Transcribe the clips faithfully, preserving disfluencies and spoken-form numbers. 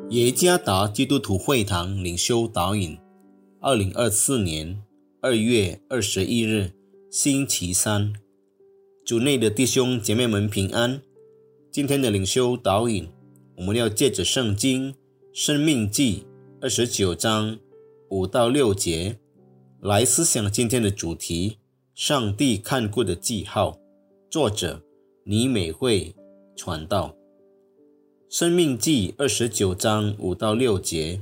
耶加达基督徒会堂领袖导引，二零二四年二月二十一日，星期三。主内的弟兄姐妹们平安。今天的领袖导引，我们要借着圣经申命记二十九章五到六节来思想今天的主题：上帝看顾的记号。作者倪美惠传道。申命记二十九章五到六节，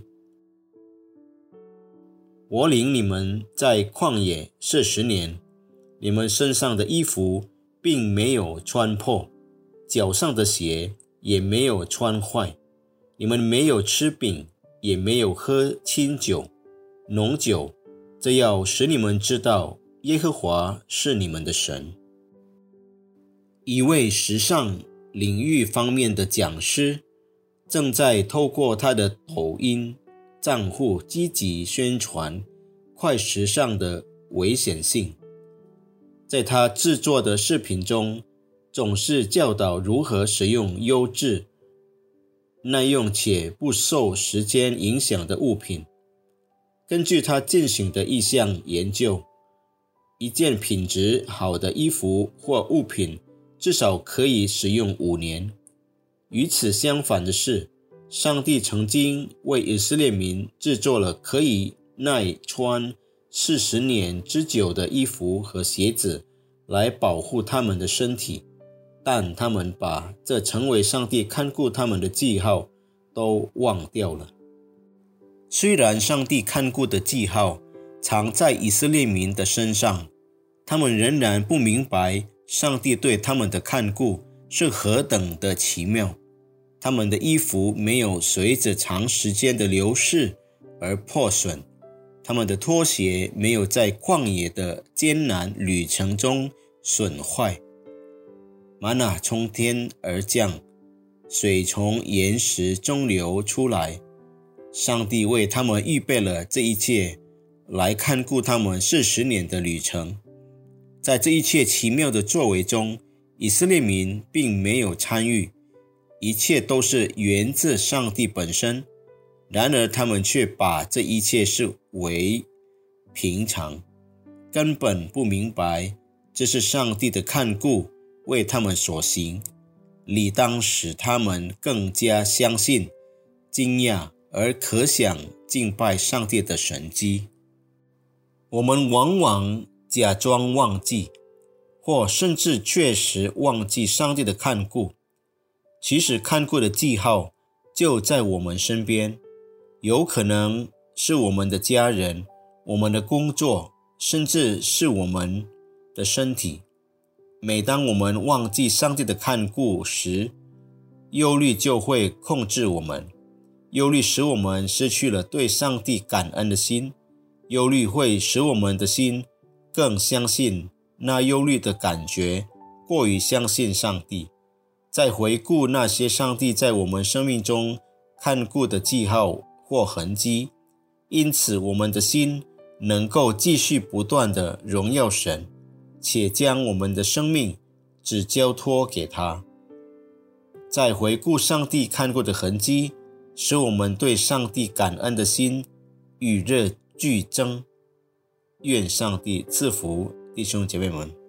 我领你们在旷野四十年，你们身上的衣服并没有穿破，脚上的鞋也没有穿坏。你们没有吃饼，也没有喝清酒、浓酒，这要使你们知道耶和华是你们的神。一位时尚领域方面的讲师正在透过他的抖音账户积极宣传快时尚的危险性。在他制作的视频中，总是教导如何使用优质、耐用且不受时间影响的物品。根据他进行的一项研究，一件品质好的衣服或物品至少可以使用五年。与此相反的是，上帝曾经为以色列民制作了可以耐穿四十年之久的衣服和鞋子来保护他们的身体，但他们把这成为上帝看顾他们的记号都忘掉了。虽然上帝看顾的记号藏在以色列民的身上，他们仍然不明白上帝对他们的看顾是何等的奇妙。他们的衣服没有随着长时间的流逝而破损，他们的拖鞋没有在旷野的艰难旅程中损坏。玛纳从天而降，水从岩石中流出来。上帝为他们预备了这一切，来看顾他们四十年的旅程。在这一切奇妙的作为中，以色列民并没有参与，一切都是源自上帝本身。然而他们却把这一切视为平常，根本不明白这是上帝的看顾为他们所行，理当使他们更加相信、惊讶而可想敬拜上帝的神迹。我们往往假装忘记，或甚至确实忘记上帝的看顾。其实看顾的记号就在我们身边，有可能是我们的家人、我们的工作，甚至是我们的身体。每当我们忘记上帝的看顾时，忧虑就会控制我们。忧虑使我们失去了对上帝感恩的心，忧虑会使我们的心更相信那忧虑的感觉，过于相信上帝。再回顾那些上帝在我们生命中看顾的记号或痕迹，因此我们的心能够继续不断地荣耀神，且将我们的生命只交托给他。再回顾上帝看顾的痕迹，使我们对上帝感恩的心与日俱增。愿上帝赐福弟兄姐妹们。